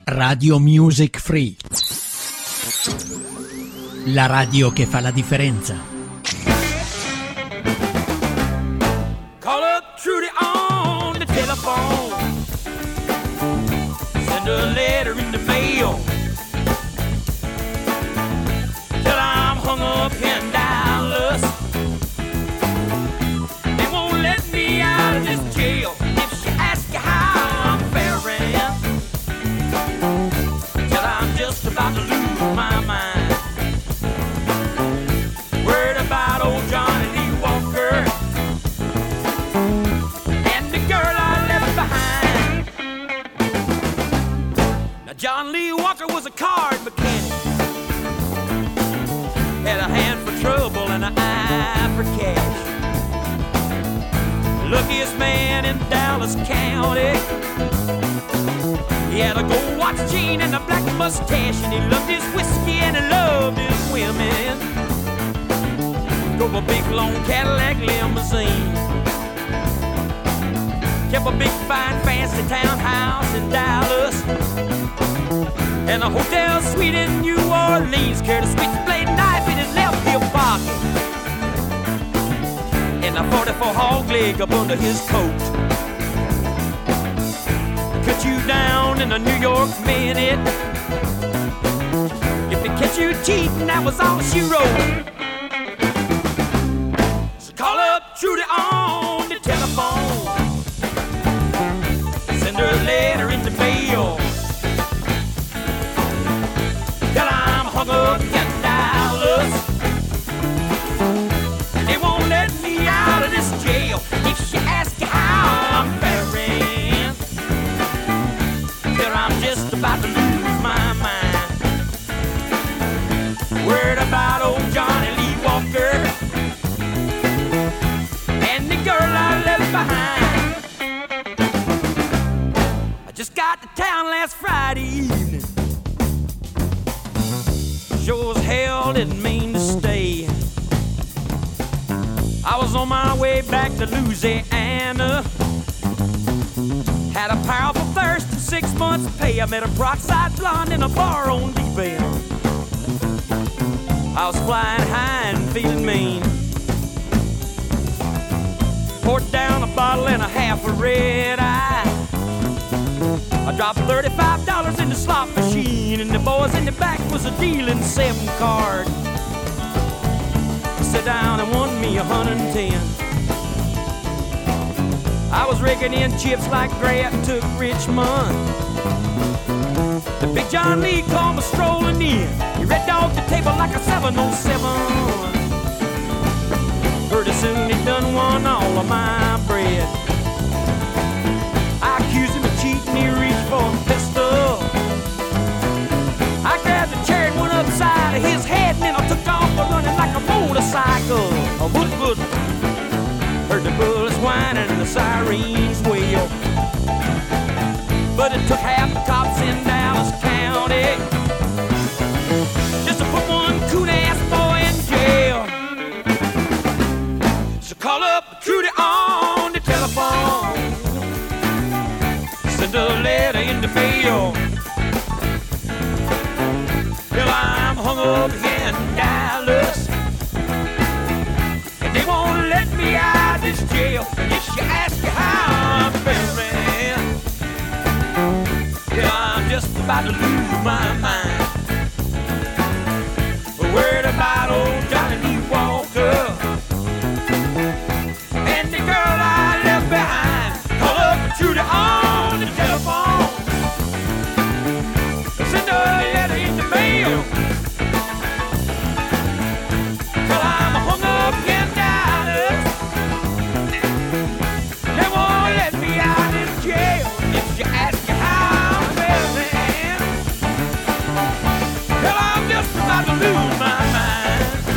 Radio Music Free. La radio che fa la differenza. Call up Trudy on the telephone. Send a letter in the mail. Till I'm hung up in Dallas. They won't let me out of this jail. If she asks you how I'm faring, till I'm just about to lose my mind. Word about old Johnny Lee Walker and the girl I left behind. Now John Lee Walker was a card mechanic, had a hand for trouble and an eye for cash. Luckiest man in Dallas County. He had a gold watch chain and a black mustache, and he loved his whiskey and he loved his women. Drove a big long Cadillac limousine. Kept a big fine fancy townhouse in Dallas and a hotel suite in New Orleans. Carried a switchblade knife in his left hip pocket and a 44 hog leg up under his coat. Cut you down in a New York minute. If they catch you cheating, that was all she wrote. So call up Trudy on the telephone. Send her a letter in the mail. Till I'm hung up in Dallas. They won't let me out of this jail. If she asks you how I'm faring, till I'm just about to lose my mind. Word about old Johnny Lee Walker and the girl I left behind. I just got to town last Friday evening. Sure as hell didn't mean to stay. I was on my way back to Louisiana. Had a powerful thirst and 6 months pay. I met a peroxide blonde in a bar on Deep End. I was flying high and feeling mean. Poured down a bottle and a half of red eye. I dropped $35 in the slot machine, and the boys in the back was a dealing 7 card. I sat down and won me 110. I was raking in chips like Grant took Richmond. The big John Lee called me strolling in. He red dogged the table like a 707. Pretty soon he done won all of my bread. I accused him of cheating, he reached for a pistol. I grabbed a chair and went upside of his head, and then I took off running like a motorcycle. A wood. Heard the bullets whining and the sirens wail. But it took half the cops in Dallas County just to put one coon-ass boy in jail. So call up Trudy on the telephone. Send a letter in the mail. Till I'm hung up in Dallas. And they won't let me out of this jail. If she asks you how I'm faring, yeah, I'm just about to lose my mind. A word about old Johnny Lee Walker and the girl I left behind. Call up Trudy on the telephone. Send her a letter in the mail. Till I'm hung up in Dallas. They won't let me out of this jail. If she asks you how I'm feeling, till I'm just about to lose my mind.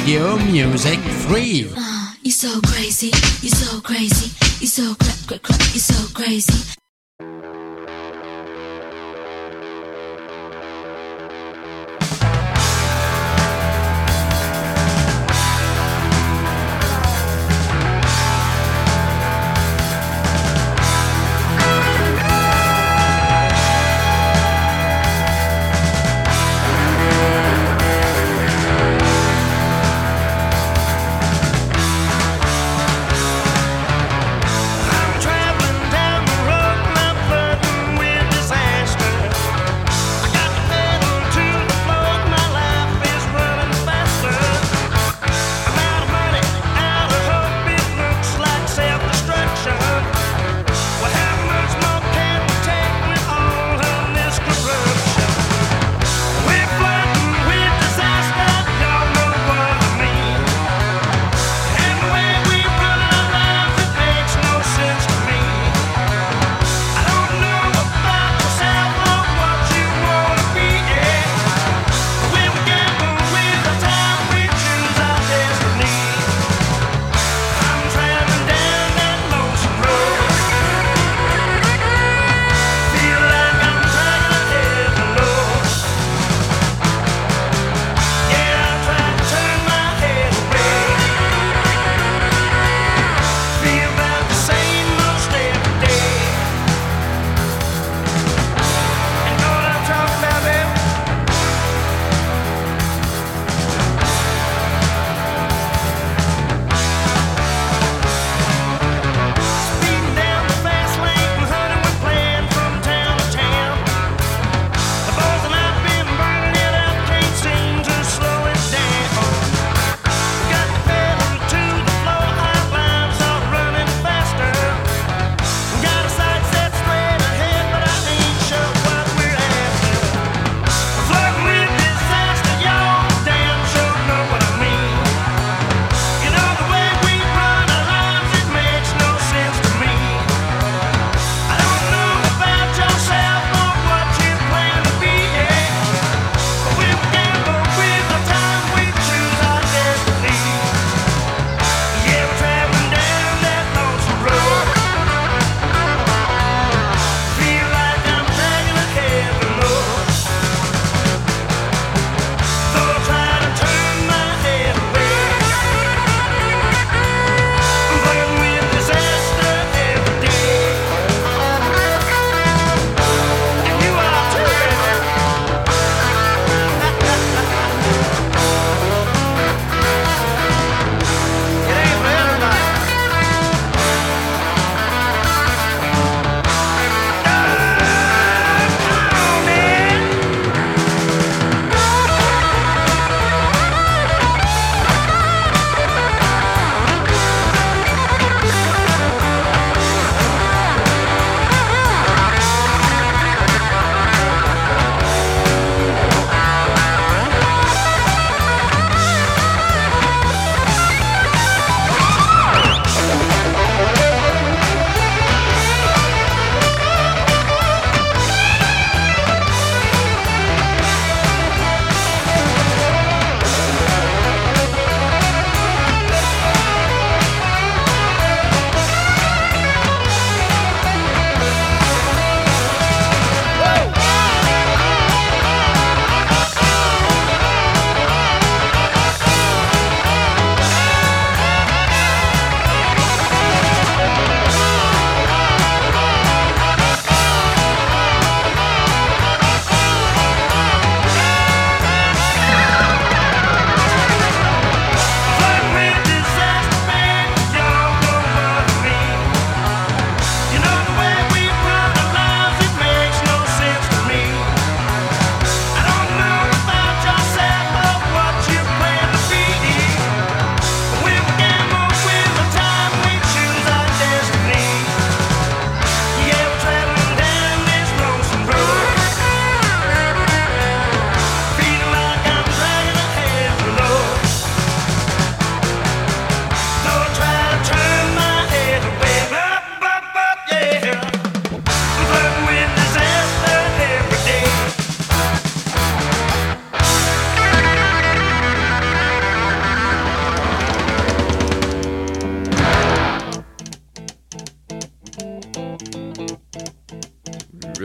Radio Music Free. You're so crazy, you're so crazy, you're so you're so crazy. Traveling down the road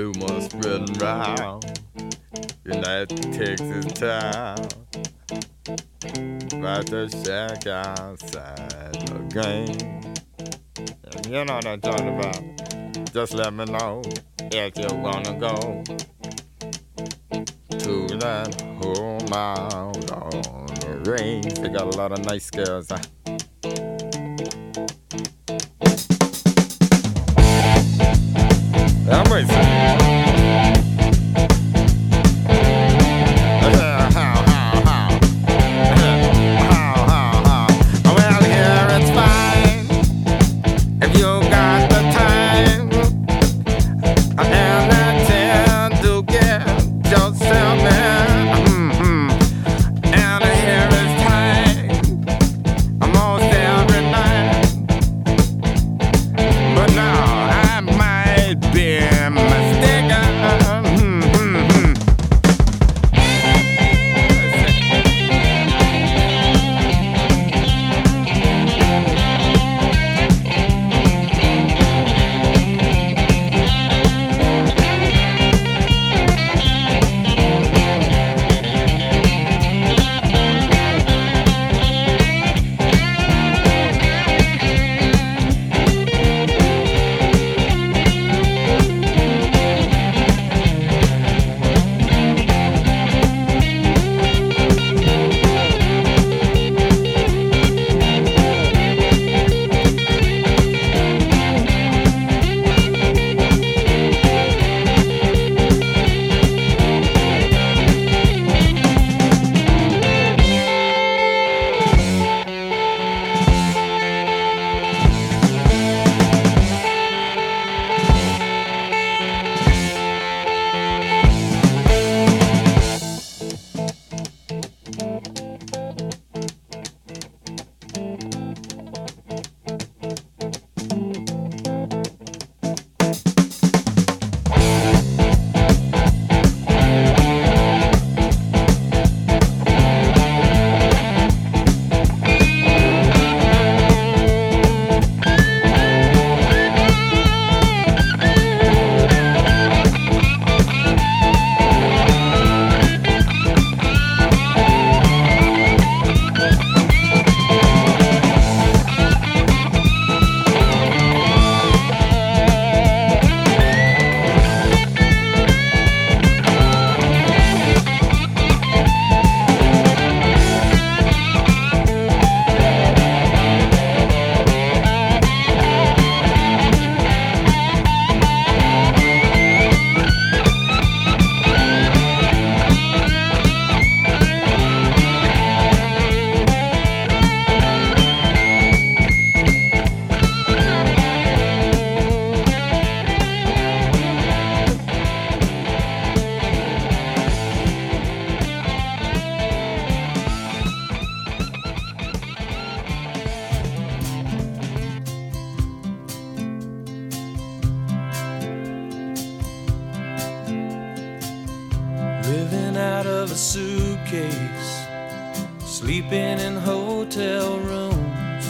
rumors spreading round in that Texas town about the shack outside the game. And you know what I'm talking about. Just let me know if you wanna go to that home out on the range. They got a lot of nice girls. I'm racing. Well, here it's fine if you got the time and the time to get yourself in. And here it's time almost every night. But now I might be mistaken. Living out of a suitcase, sleeping in hotel rooms,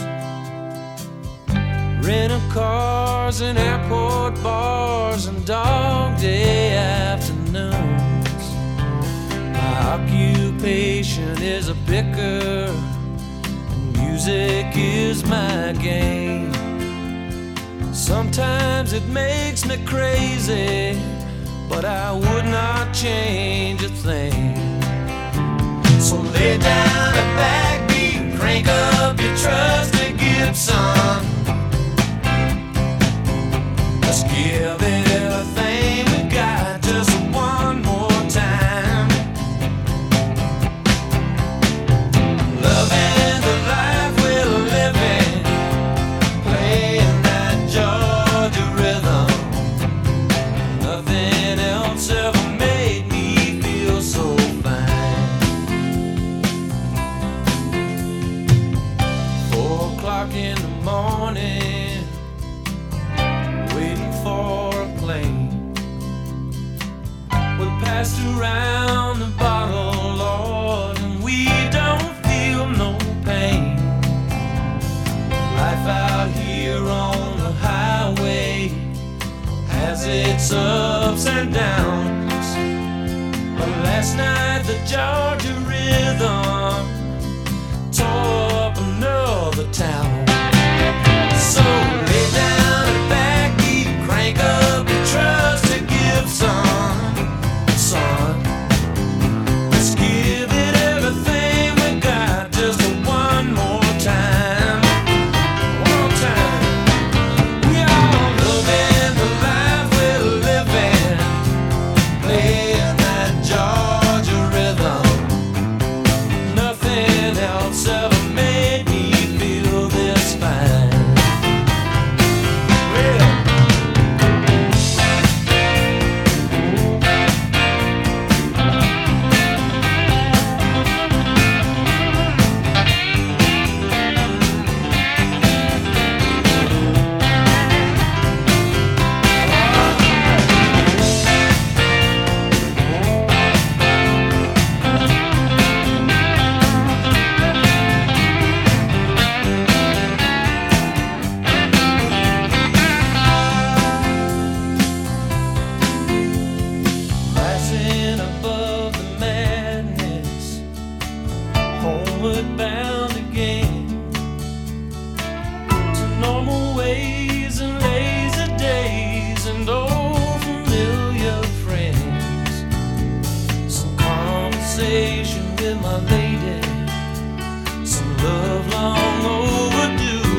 renting cars in airport bars and dog day afternoons. My occupation is a picker, and music is my game. Sometimes it makes me crazy, but I would not change a thing. So lay down a backbeat, crank up your trusty Gibson. Let's give it everything we got just one more time. Loving the life we're living, playing that Georgia rhythm. Nothing else ever made me feel so fine. 4 o'clock in the morning, waiting for a plane. has its ups and downs. But last night the Georgia rhythm tore up another town. So lay down and backbeat, crank up your trust to Gibson, son. Let's give it everything we got, just one more time. One more time. We all loving the life we're living, playing that Georgia rhythm. Nothing else ever made me feel this fine. Rising above the madness, homeward bound again to normal ways and lazy days and old familiar friends. Some conversation with my lady, some love long overdue.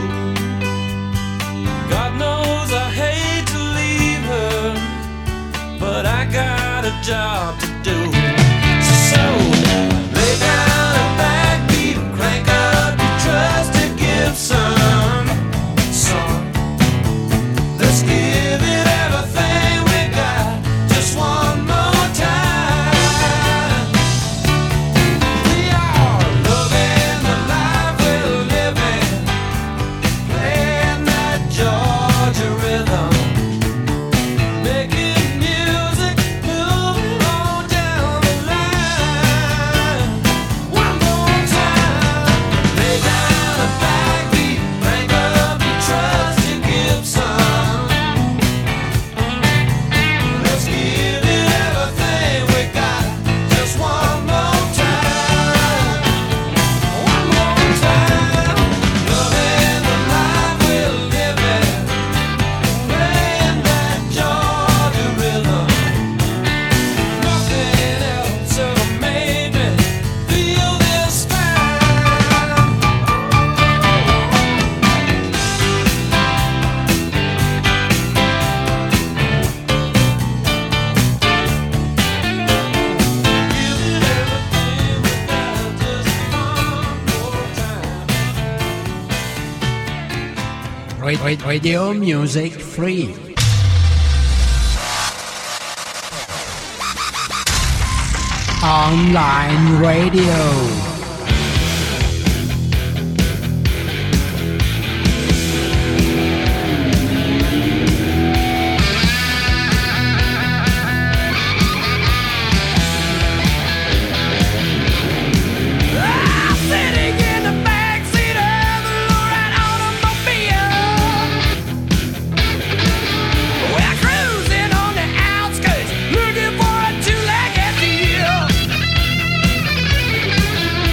God knows I hate to leave her, but I got a job to do. So lay down and backbeat, crank up your trust to Gibson, son. Let's give it everything we got, just one more time. We are loving the life we're living, playing that Georgia rhythm. Making music, moving on down the line. One more time. Lay down a backbeat, crank up your trust to Gibson. Let's give it everything we got, just one more time. One more time. Loving the life we're living, playing that Georgia rhythm. Nothing else ever made me feel this fine. Give it everything we got, just one more time. Radio Music Free. Online radio. Sitting in the backseat of the lowrider automobile, we're cruising on the outskirts, looking for a two-legged deal.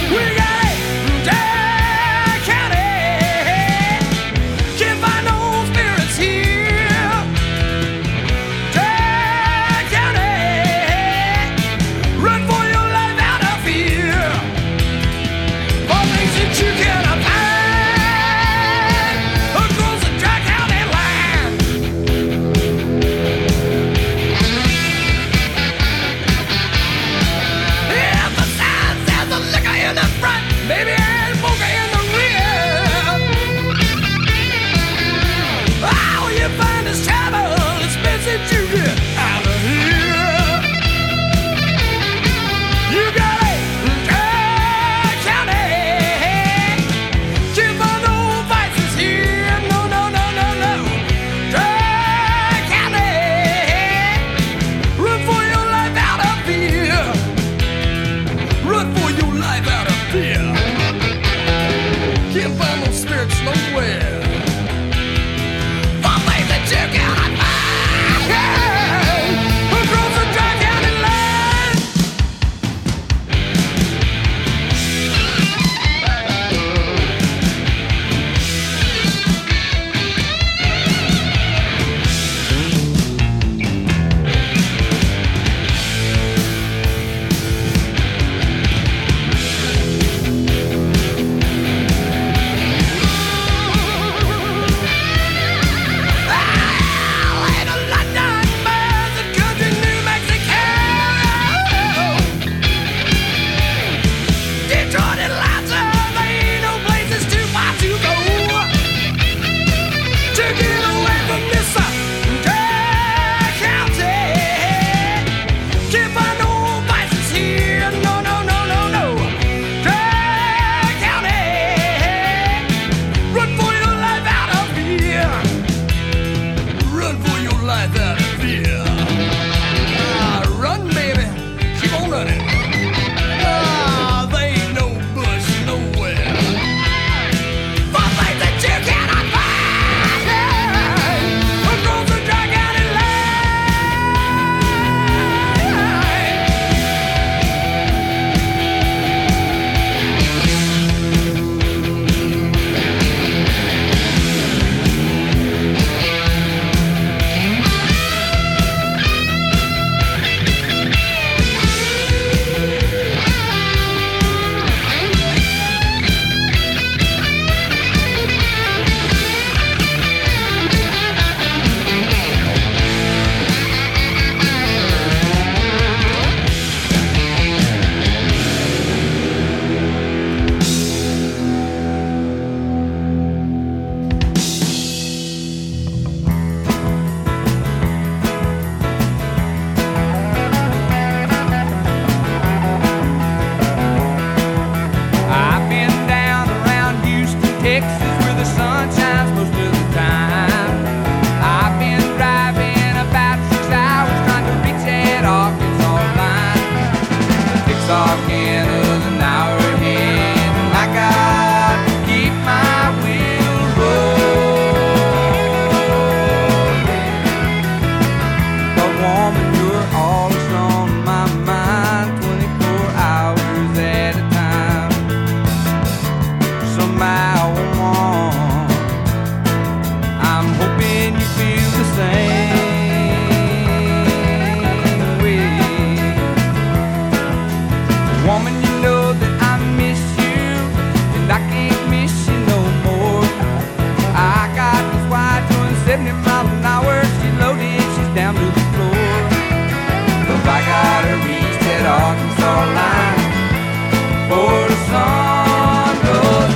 70 miles an hour, she's loaded, she's down to the floor. Cause I gotta reach that Arkansas line before the sun goes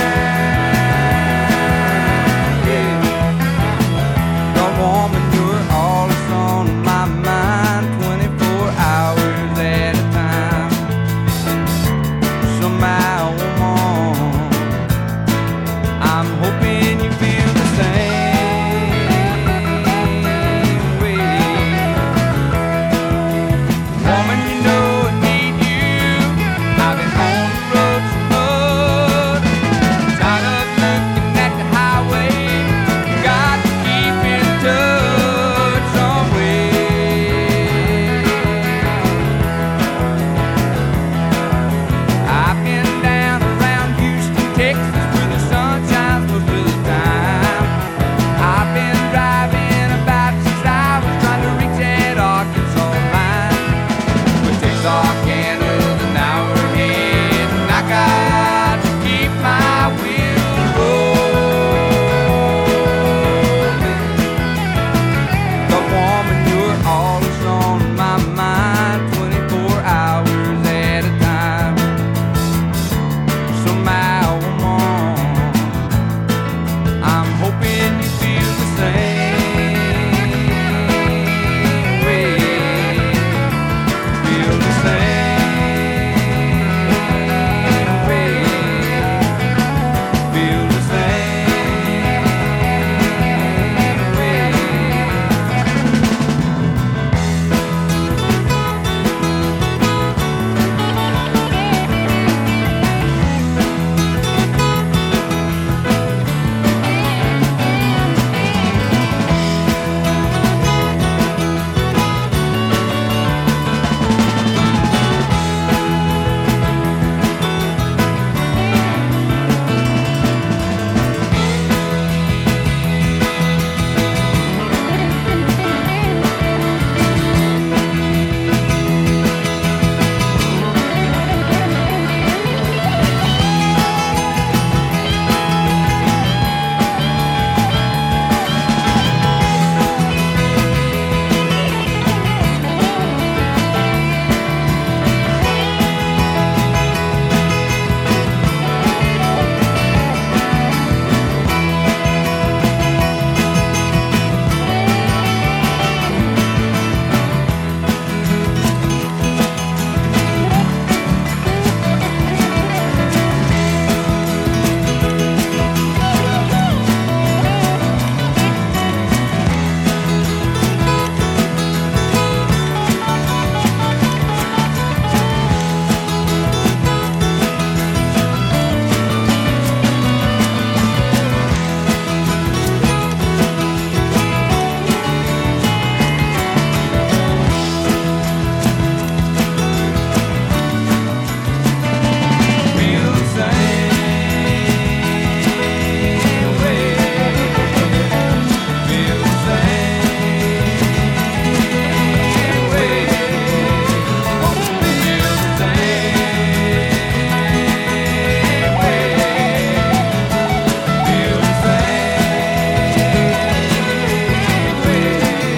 down, yeah. The woman, you're all that's on my mind, 24 hours at a time. Somehow, woman, I'm hoping you feel the same way. Woman, you know I need you. I've been on the road so much, tired of looking at the highway. Got to keep in touch some way. I've been down around Houston, Texas, where the sun shines most of the time. I've been driving about 6 hours trying to reach that Arkansas line. But Texarkana's an hour ahead, and I got to keep my wheels rolling. The woman, you're all that's on my mind, 24 hours at a time. Somehow, woman, I'm hoping you feel the same way. Feel the same way. Feel the same way. Feel the same way. Feel the same way. Feel the same way. Feel the same way.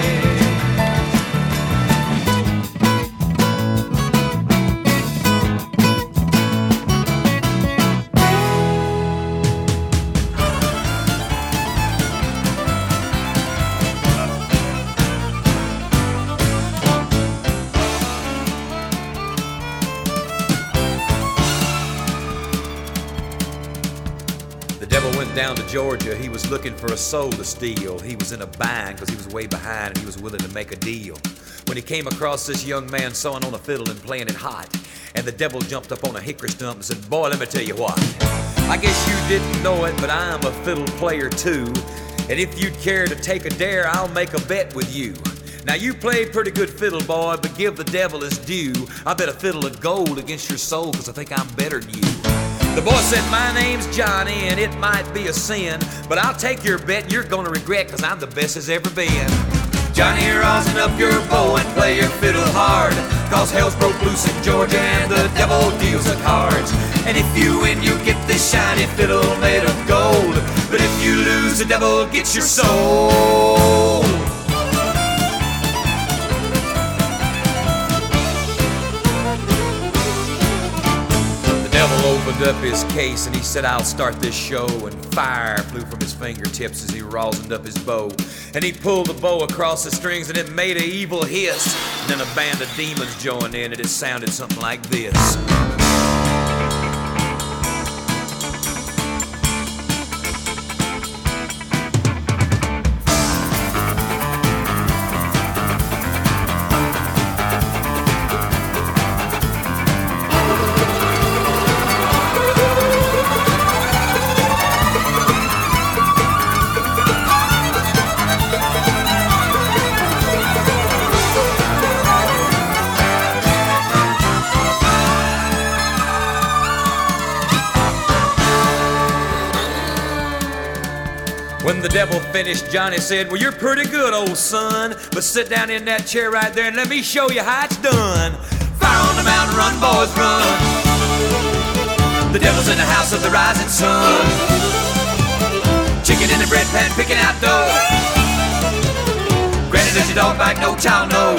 The devil went down to Georgia. He was looking for a soul to steal. He was in a bind because he was way behind and he was willing to make a deal. When he came across this young man sawing on a fiddle and playing it hot, and the devil jumped up on a hickory stump and said, "Boy, let me tell you what. I guess you didn't know it, but I'm a fiddle player too. And if you'd care to take a dare, I'll make a bet with you. Now you played pretty good fiddle, boy, but give the devil his due. I bet a fiddle of gold against your soul, cause I think I'm better than you." The boy said, "My name's Johnny, and it might be a sin, but I'll take your bet and you're gonna regret, cause I'm the best as ever been. Johnny, rosin up your bow and play your fiddle hard, cause hell's broke loose in Georgia and the devil deals the cards. And if you win, you get this shiny fiddle made of gold, but if you lose, the devil gets your soul. up his case and he said, I'll start this show. And fire flew from his fingertips as he rosined up his bow. And he pulled the bow across the strings and it made an evil hiss. And then a band of demons joined in and it sounded something like this. When the devil finished, Johnny said, well, you're pretty good, old son, but sit down in that chair right there and let me show you how it's done. Fire on the mountain, run, boys, run. The devil's in the house of the rising sun. Chicken in the bread pan, picking out dough. Granny, does your dog bite? No child, no.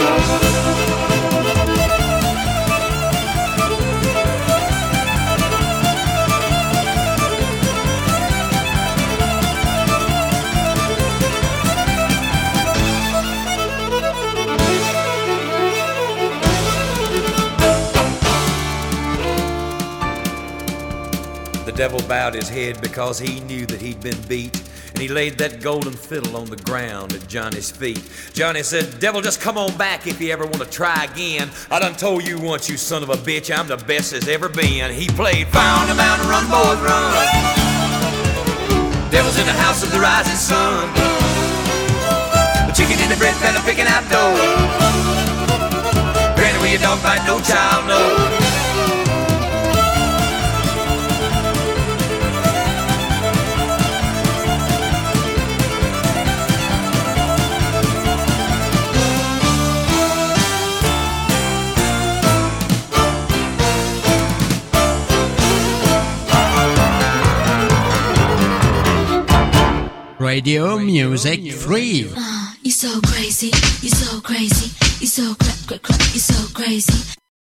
The devil bowed his head because he knew that he'd been beat, and he laid that golden fiddle on the ground at Johnny's feet. Johnny said, devil, just come on back if you ever want to try again. I done told you once, you son of a bitch, I'm the best there's ever been. He played Fire on the Mountain, run, boys, run. Devil's in the house of the rising sun. The chicken in the bread pan, I'm picking out dough. Granny, will your dog bite? No child, no. Radio Music Free. You're so crazy, you're so crazy, you're so you're so crazy.